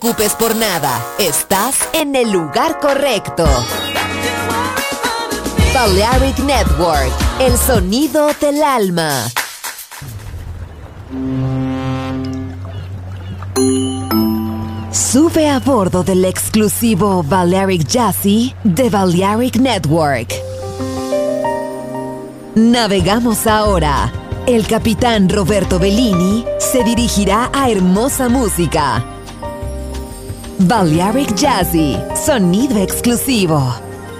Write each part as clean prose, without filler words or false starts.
preocupes por nada. Estás en el lugar correcto. Balearic Network, el sonido del alma. Sube a bordo del exclusivo Balearic Jazzy de Balearic Network. Navegamos ahora. El capitán Roberto Bellini se dirigirá a hermosa música. Balearic Jazzy, sonido exclusivo.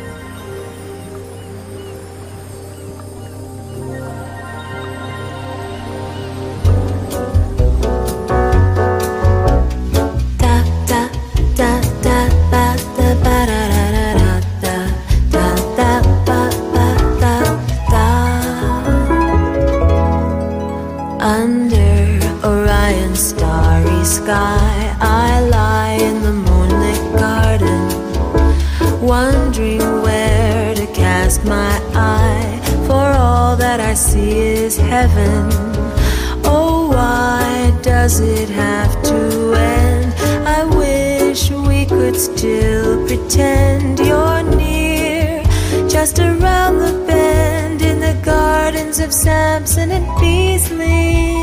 Heaven. Oh, why does it have to end? I wish we could still pretend you're near, just around the bend in the gardens of Samson and Beasley.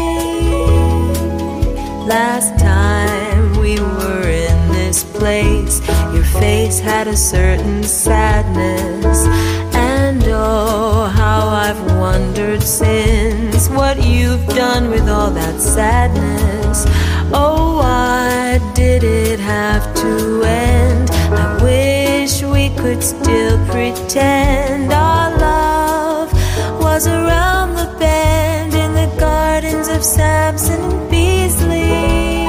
Last time we were in this place, your face had a certain sadness. And oh, how I've wondered since what you've done with all that sadness. Oh, why did it have to end? I wish we could still pretend our love was around the bend in the gardens of Samson and Beasley.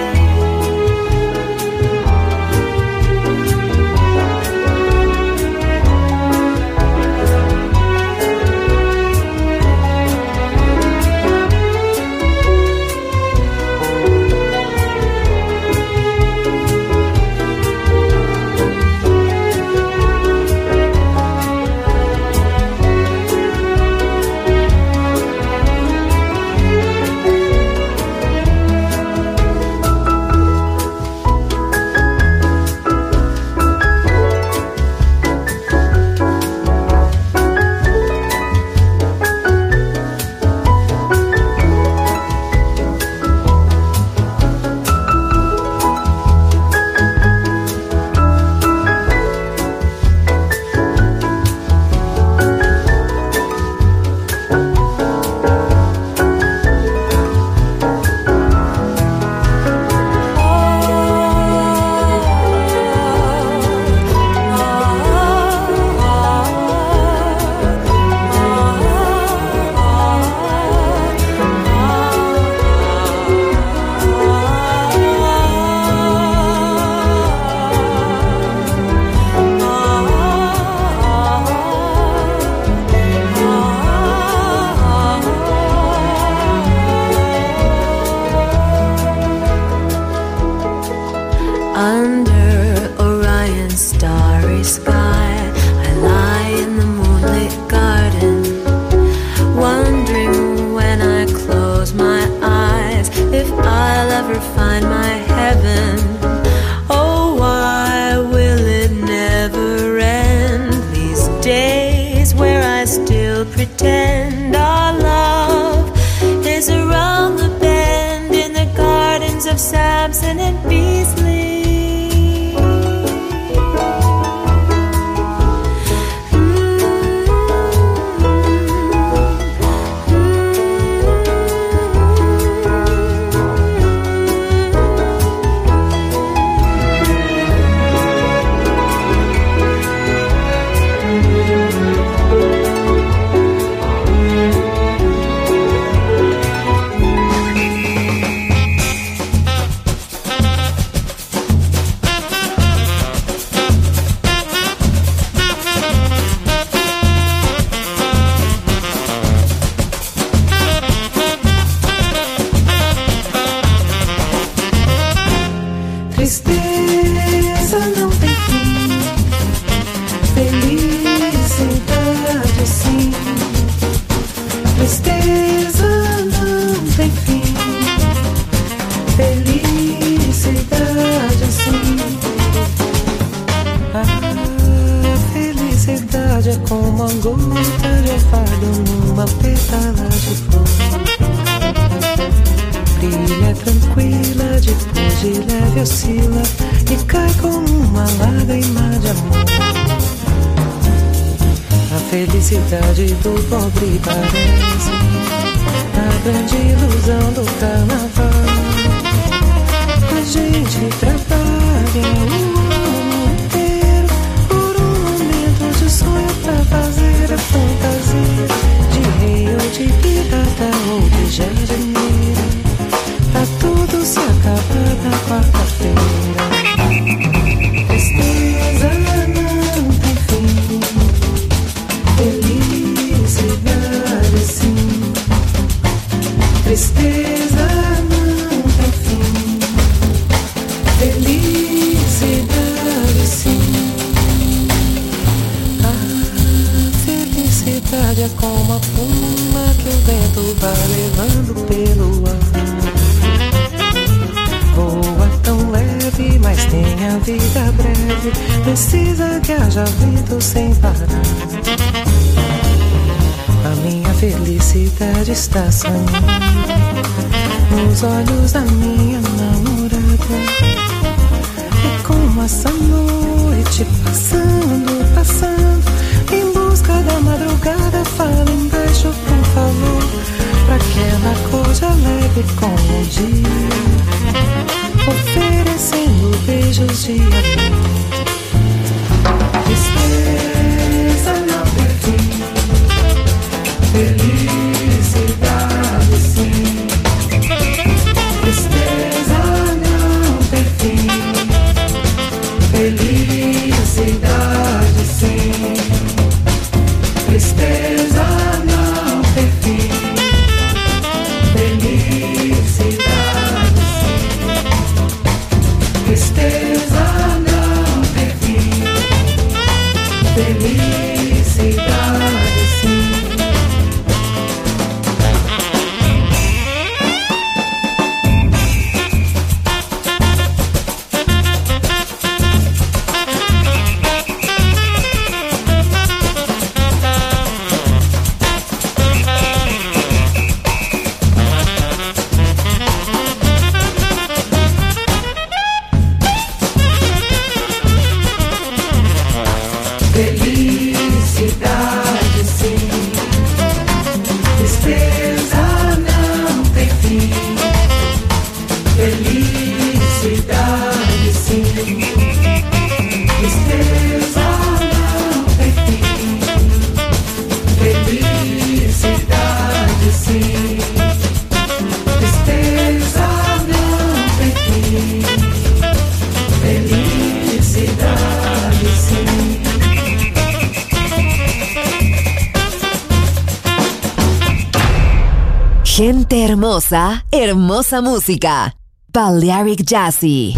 Samson and Beasley. Felicidade é como a gota de orvalho numa pétala de flor. Brilha tranquila, depois de leve oscila e cai como uma lágrima de amor. A felicidade do pobre parece a grande ilusão do carnaval. A gente trabalha o ano inteiro por um momento de sonho pra fazer a fantasia de rei ou de pirata ou de jardineira, pra tudo se acabar na quarta-feira. Tristeza não tem fim, felicidade sim. Tristeza não tem fim, felicidade sim. A felicidade é como a pluma que o vento vai levando pelo ar. Voa tão leve, mas tem a vida breve, precisa que haja vento sem parar. A minha felicidade está sonhando nos olhos da minha namorada. É como essa noite passando, passando, em busca da madrugada. Fala embaixo, por favor, pra que ela acorde alegre com o dia, oferecendo beijos de amor. Tristeza não tem fim, felicidade sim. Tristeza não tem fim, felicidade sim. Tristeza não tem fim, felicidade sim. Tristeza não tem fim, felicidade sim. Felicidade sim, tristeza não tem fim, felicidade sim. Tristeza não tem fim, felicidade sim. Tristeza não tem fim, felicidade sim. Gente hermosa, hermosa música. Balearic Jazzy.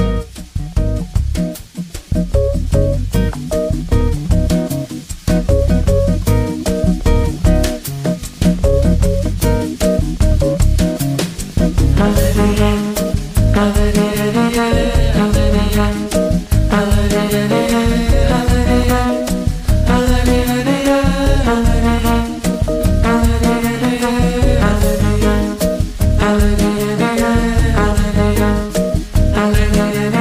Hallelujah.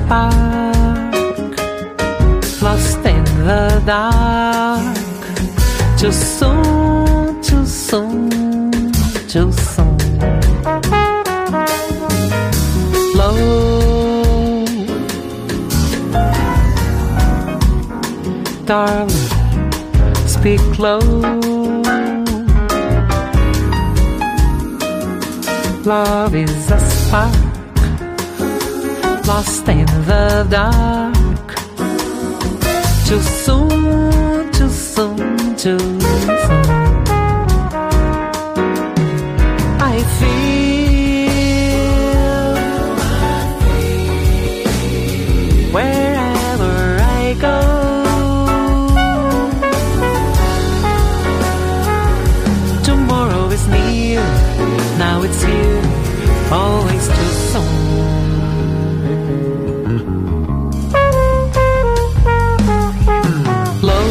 spark, lost in the dark. Too soon, too soon, too soon. Low, darling, speak low. Love is a spark, lost in the dark. Too soon, too soon, too soon. I feel wherever I go. Tomorrow is near, now it's here, always too soon. Low,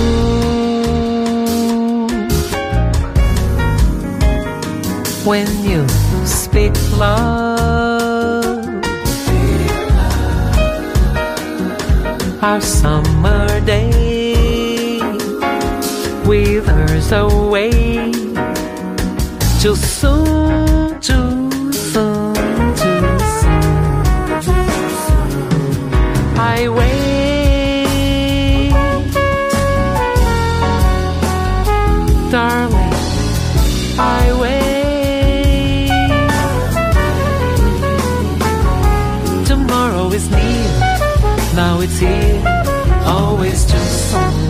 when you speak love, our summer day withers away. Too soon, too soon, too soon. I wait, darling, I wait. Tomorrow is near, now it's here, always too soon.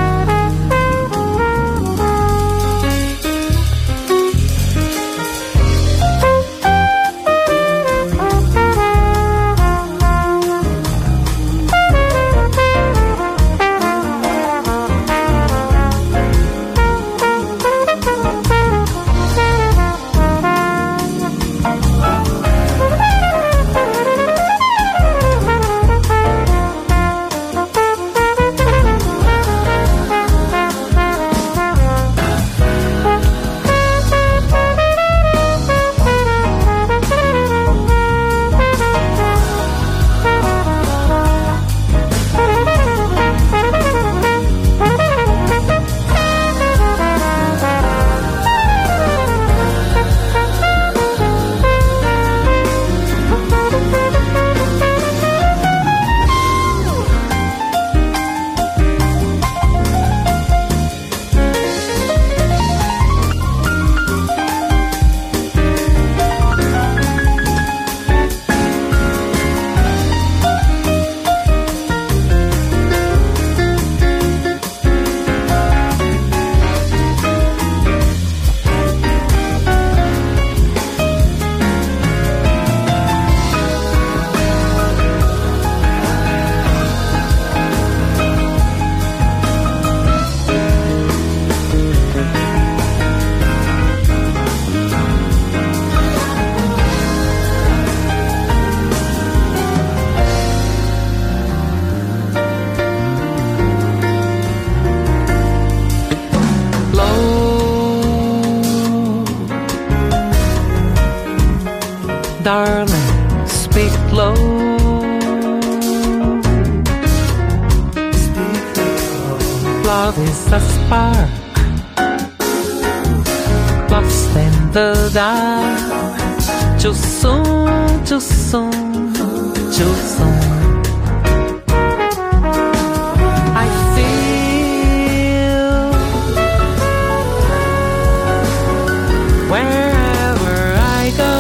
Darling, speak low. Love is a spark, lost in the dark. Too soon, too soon, too soon. I feel wherever I go.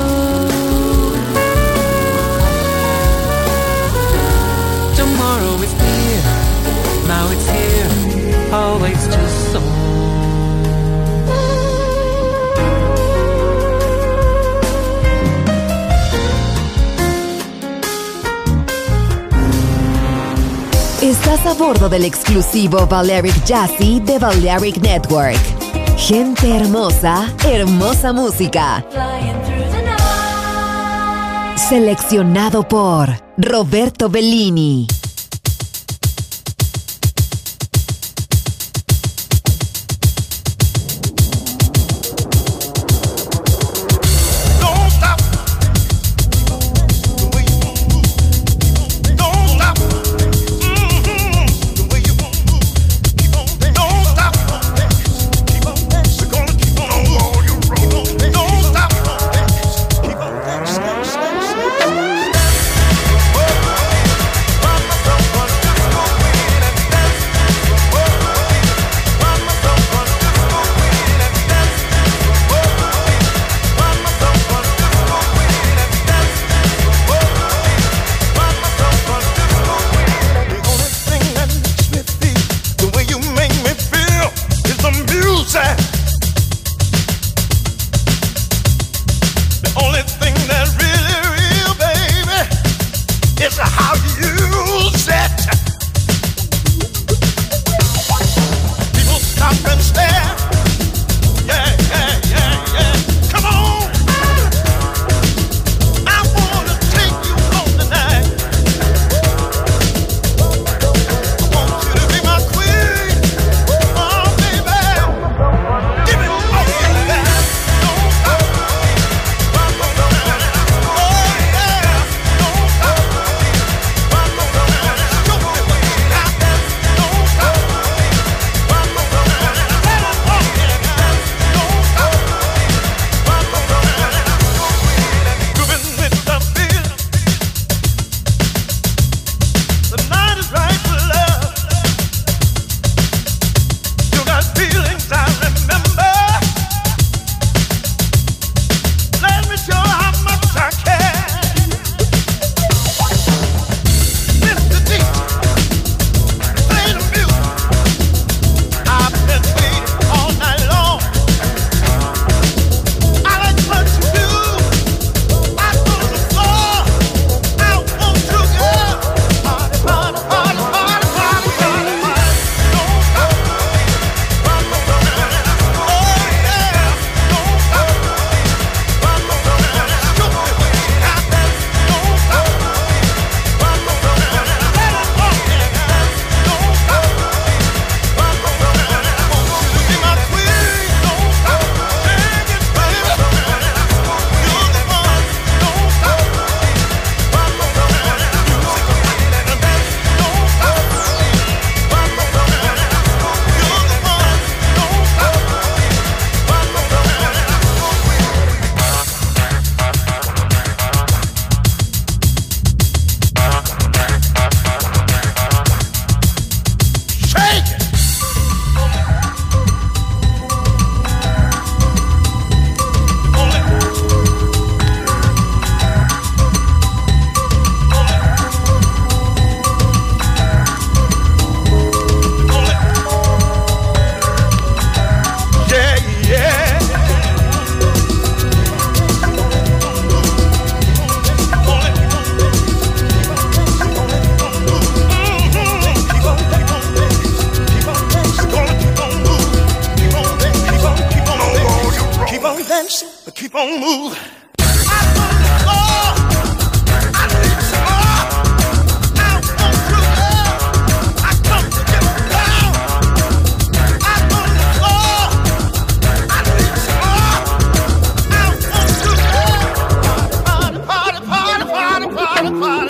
Tomorrow is near, now it's here, always too soon. Estás a bordo del exclusivo Balearic Jazzy de Balearic Network. Gente hermosa, hermosa música. Seleccionado por Roberto Bellini. Don't dance, but keep on moving. I want the floor, I need some more. I want you, girl, I come to get down. I want the floor, I need some more. I want you, girl, party, party, party, party, party, party.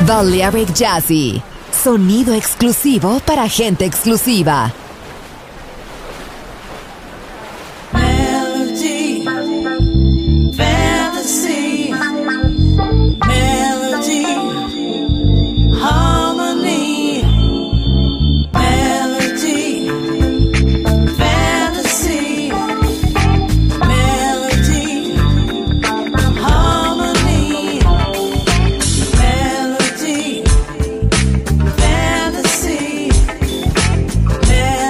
Balearic Jazzy. Sonido exclusivo para gente exclusiva. Melody, fantasy, melody, harmony, melody, fantasy, melody, harmony, melody, fantasy, melody.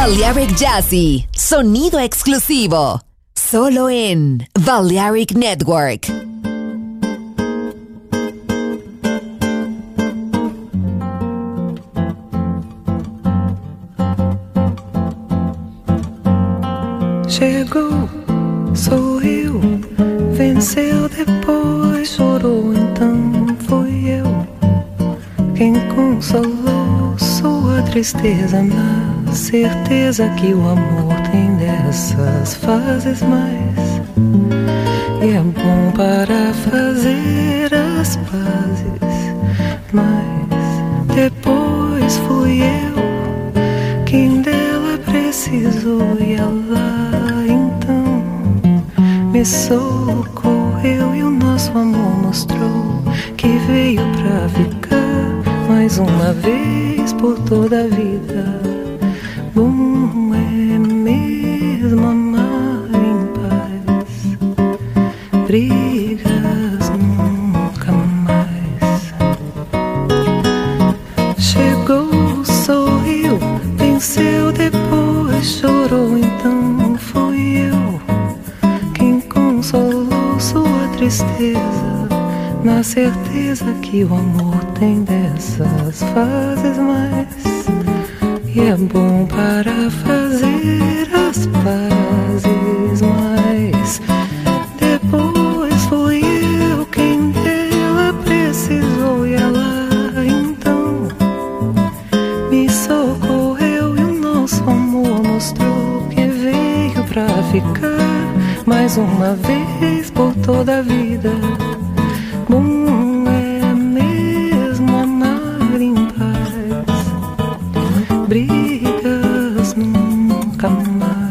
Balearic Jazzy, sonido exclusivo, solo en Balearic Network. Chegou, sorriu, venceu, depois chorou, então fui eu quem consolou sua tristeza, na certeza que o amor tem dessas fases mais, e é bom para fazer as pazes, mas depois fui eu quem dela precisou, e ela então me socorreu, e o nosso amor mostrou que veio pra ficar mais uma vez por toda a vida. Bom é mesmo amar em paz, brigas nunca mais. Chegou, sorriu, venceu, depois chorou, então fui eu quem consolou sua tristeza, na certeza que o amor tem dessas fases mais, e é bom para fazer as pazes, mas depois fui eu quem dela precisou, e ela então me socorreu, e o nosso amor mostrou que veio pra ficar mais uma vez por toda a vida. Bom é mesmo amar em paz, brigas nunca mais.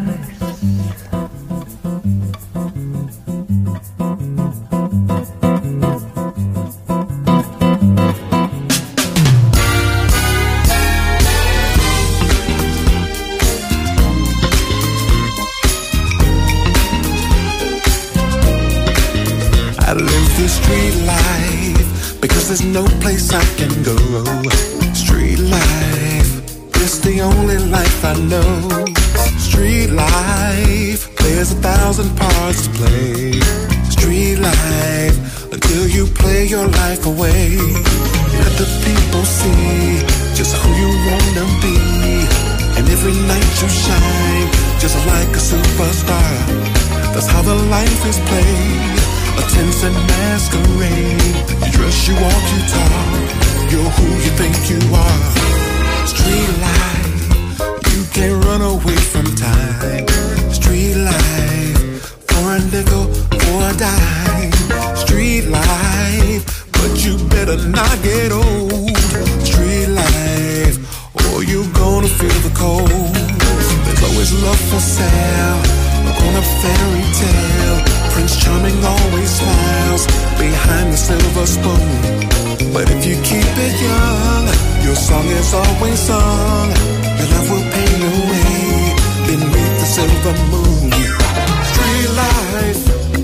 I live the street life because there's no place I can go. Street life is the only life I know. Street life, there's 1,000 parts to play. Street life, until you play your life away. Let the people see just who you wanna be, and every night you shine just like a superstar. That's how the life is played. A tense and masquerade. You dress, you walk, you talk. You're who you think you are. Street life, you can't run away from time. Street life, for a nickel, for a dime. Street life, but you better not get old. Street life, or you're gonna feel the cold. There's always love for sale, on a fairy tale. Prince Charming always smiles behind the silver spoon. But if you keep it young, your song is always sung. Your love will pay your way beneath the silver moon. Street life,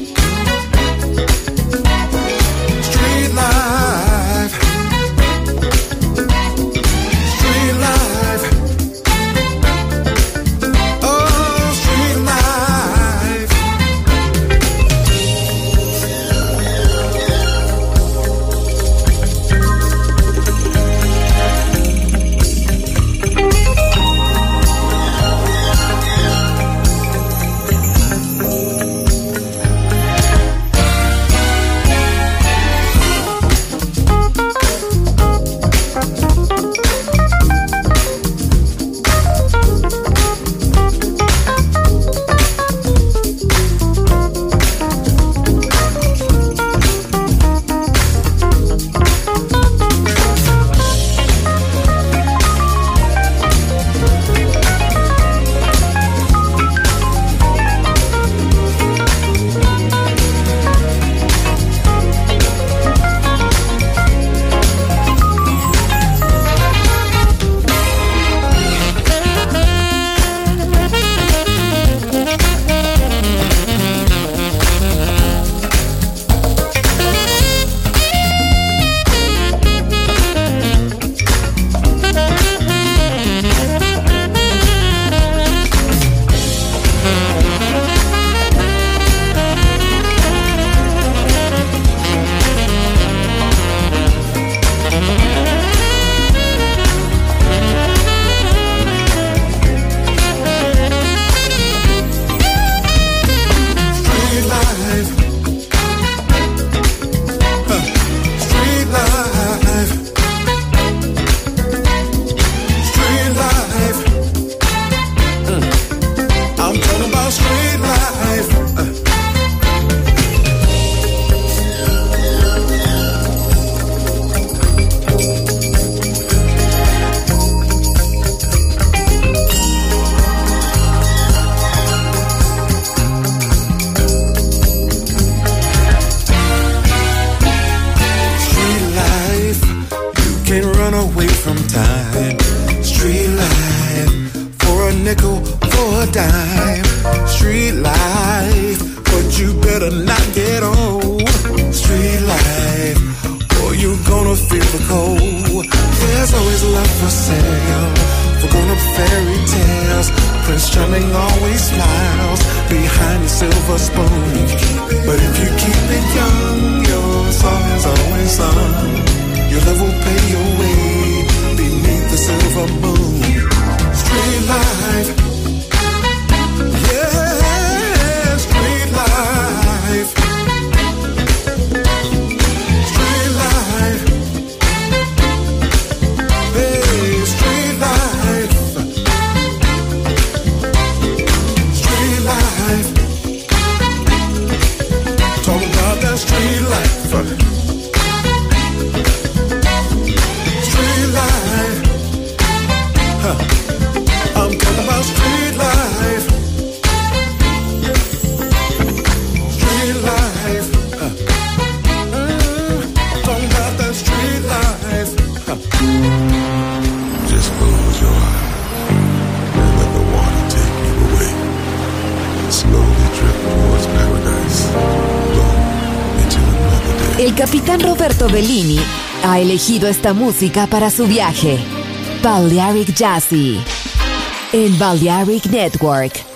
street life, street life. Oh, street life. away from time. Street life, for a nickel, for a dime. Street life, but you better not get old. Street life, or you gonna feel the cold. There's always love for sale, for grown-up fairy tales. Prince Charming always smiles behind the silver spoon. But if you keep it young, your song is always sung. Your love will pay your way beneath the silver moon. Street life, yeah, street life. Street life, hey, street life. Street life, talk about that street life. Street life, I'm talking about street life. Street life, talking about that street life. Just close your eyes and let the water take you away. Slowly drift towards paradise. Go into another day. El capitán Roberto Bellini ha elegido esta música para su viaje. Balearic Jazzy en Balearic Network.